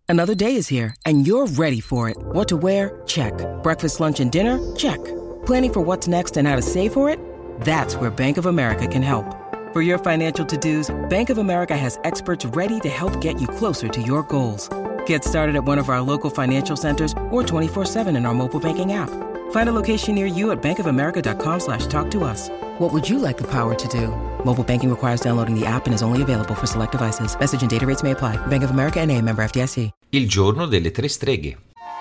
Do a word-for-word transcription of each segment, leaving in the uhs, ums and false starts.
Another day is here, and you're ready for it. What to wear? Check. Breakfast, lunch, and dinner? Check. Planning for what's next and how to save for it? That's where Bank of America can help. For your financial to-dos, Bank of America has experts ready to help get you closer to your goals. Get started at one of our local financial centers or twenty-four seven in our mobile banking app. Find a location near you at bankofamerica.com slash talk to us. What would you like the power to do? Mobile banking requires downloading the app and is only available for select devices. Message and data rates may apply. Bank of America N A, member F D I C. Il giorno delle tre streghe.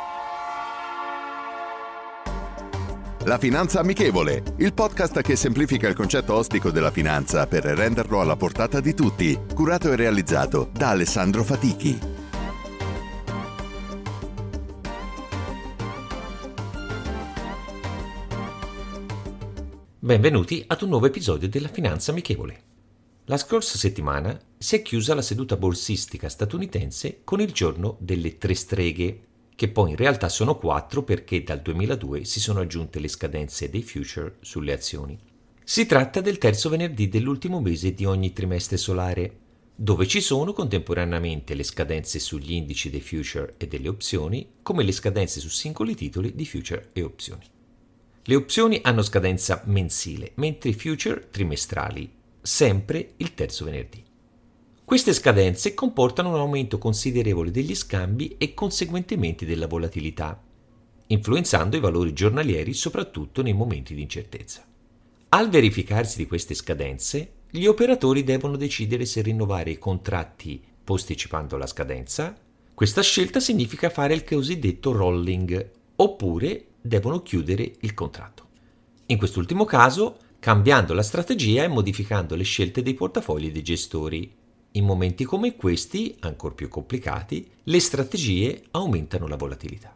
La Finanza Amichevole, il podcast che semplifica il concetto ostico della finanza per renderlo alla portata di tutti, curato e realizzato da Alessandro Fatichi. Benvenuti ad un nuovo episodio della Finanza Amichevole. La scorsa settimana si è chiusa la seduta borsistica statunitense con il giorno delle tre streghe, che poi in realtà sono quattro perché dal duemiladue si sono aggiunte le scadenze dei future sulle azioni. Si tratta del terzo venerdì dell'ultimo mese di ogni trimestre solare, dove ci sono contemporaneamente le scadenze sugli indici dei future e delle opzioni, come le scadenze su singoli titoli di future e opzioni. Le opzioni hanno scadenza mensile, mentre i future trimestrali, sempre il terzo venerdì. Queste scadenze comportano un aumento considerevole degli scambi e conseguentemente della volatilità, influenzando i valori giornalieri soprattutto nei momenti di incertezza. Al verificarsi di queste scadenze, gli operatori devono decidere se rinnovare i contratti posticipando la scadenza. Questa scelta significa fare il cosiddetto rolling, oppure devono chiudere il contratto. In quest'ultimo caso, cambiando la strategia e modificando le scelte dei portafogli dei gestori. In momenti come questi, ancor più complicati, le strategie aumentano la volatilità.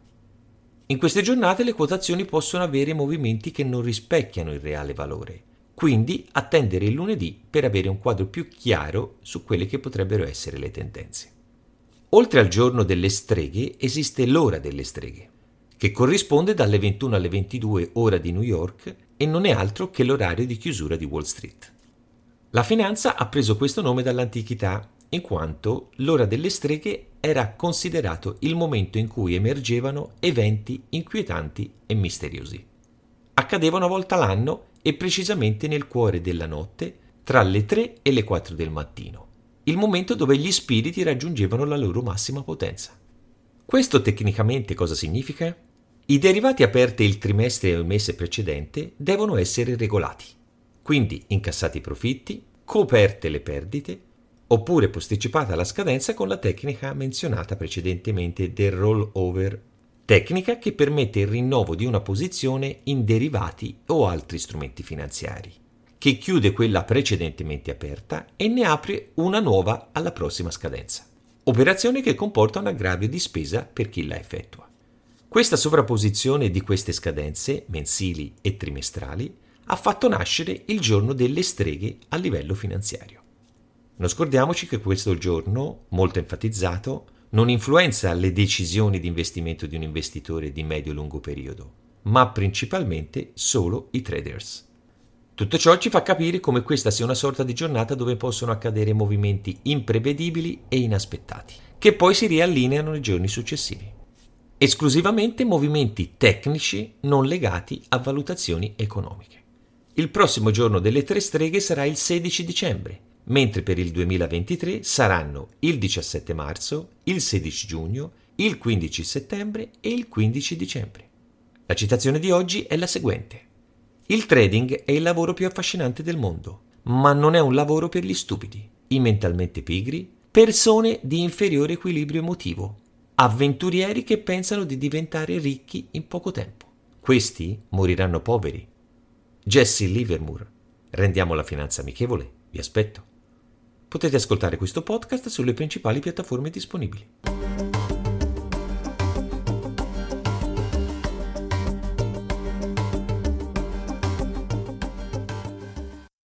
In queste giornate le quotazioni possono avere movimenti che non rispecchiano il reale valore, quindi attendere il lunedì per avere un quadro più chiaro su quelle che potrebbero essere le tendenze. Oltre al giorno delle streghe esiste l'ora delle streghe, che corrisponde dalle ventuno alle ventidue ora di New York e non è altro che l'orario di chiusura di Wall Street. La finanza ha preso questo nome dall'antichità, in quanto l'ora delle streghe era considerato il momento in cui emergevano eventi inquietanti e misteriosi. Accadevano una volta l'anno e precisamente nel cuore della notte, tra le tre e le quattro del mattino, il momento dove gli spiriti raggiungevano la loro massima potenza. Questo tecnicamente cosa significa? I derivati aperti il trimestre o il mese precedente devono essere regolati, quindi incassati i profitti, coperte le perdite, oppure posticipata la scadenza con la tecnica menzionata precedentemente del rollover, tecnica che permette il rinnovo di una posizione in derivati o altri strumenti finanziari, che chiude quella precedentemente aperta e ne apre una nuova alla prossima scadenza. Operazione che comporta un aggravio di spesa per chi la effettua. Questa sovrapposizione di queste scadenze, mensili e trimestrali, ha fatto nascere il giorno delle streghe a livello finanziario. Non scordiamoci che questo giorno, molto enfatizzato, non influenza le decisioni di investimento di un investitore di medio-lungo periodo, ma principalmente solo i traders. Tutto ciò ci fa capire come questa sia una sorta di giornata dove possono accadere movimenti imprevedibili e inaspettati, che poi si riallineano nei giorni successivi. Esclusivamente movimenti tecnici non legati a valutazioni economiche. Il prossimo giorno delle tre streghe sarà il sedici dicembre, mentre per il duemilaventitré saranno il diciassette marzo, il sedici giugno, il quindici settembre e il quindici dicembre. La citazione di oggi è la seguente. Il trading è il lavoro più affascinante del mondo, ma non è un lavoro per gli stupidi, i mentalmente pigri, persone di inferiore equilibrio emotivo, avventurieri che pensano di diventare ricchi in poco tempo. Questi moriranno poveri. Jesse Livermore. Rendiamo la finanza amichevole. Vi aspetto. Potete ascoltare questo podcast sulle principali piattaforme disponibili.